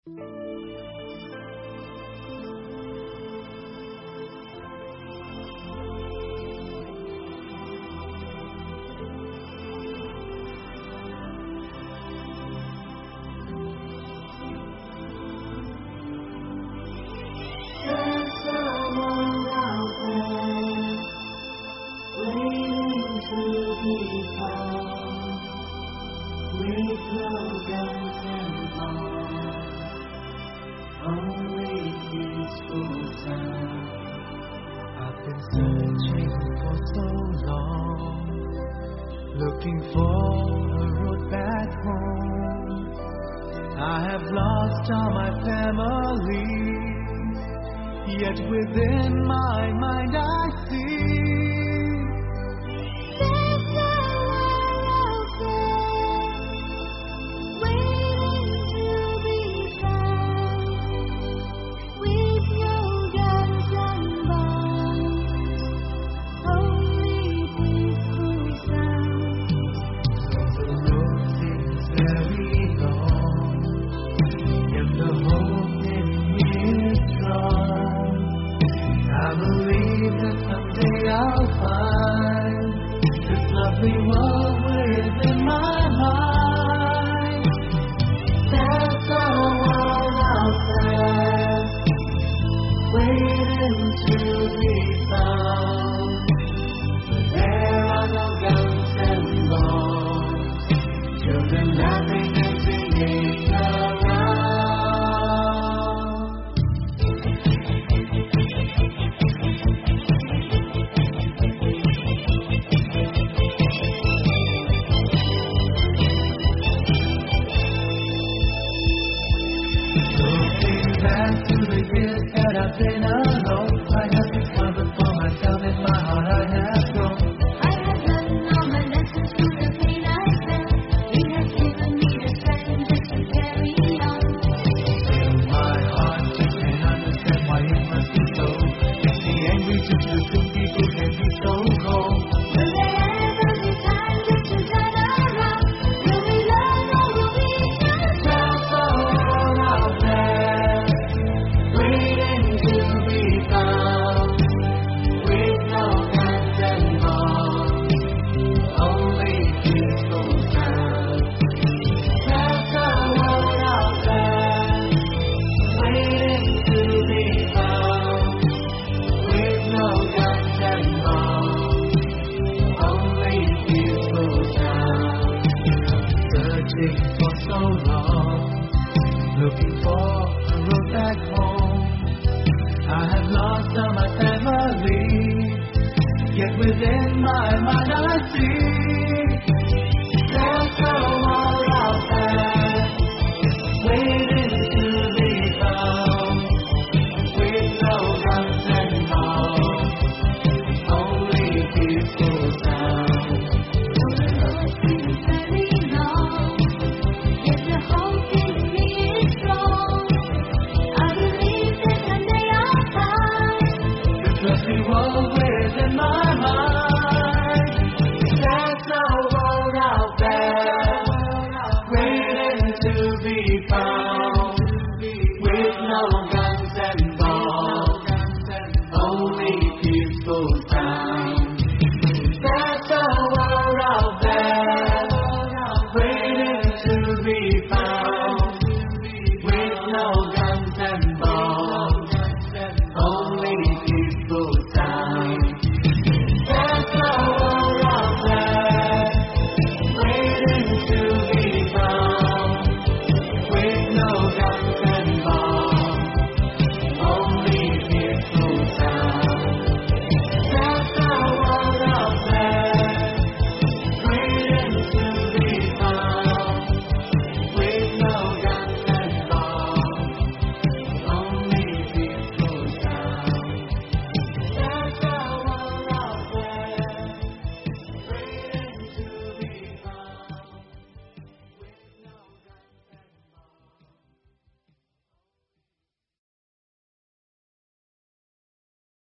Looking for a road back home. I have lost all my family, yet within my mind I see there's a world out there waiting to be found, with no guns and bombs, only peaceful sound. the road seems very long, yet the hope in me is strong. I believe that someday I'll find this lovely world within my mind. There's a world out there waiting to be found. There are no guns and bombs, children laughing and singing around. Looking back to the years that I've been alone, I have discovered for myself in my heart I have grown. I have learned all my lessons through the pain I felt. He has given me the strength just to carry on. In my heart you can understand why it must be so. It's the angry just the good people can be so cold. Will there ever be time just to turn around? Will we learn or will we just There's a world out there waiting to be found, with no guns and bombs, only peaceful sound. There's a world out there waiting to be found, with no guns and bombs, only peaceful sound. Searching for so long, looking for a road back home. I have lost all my family, yet within my mind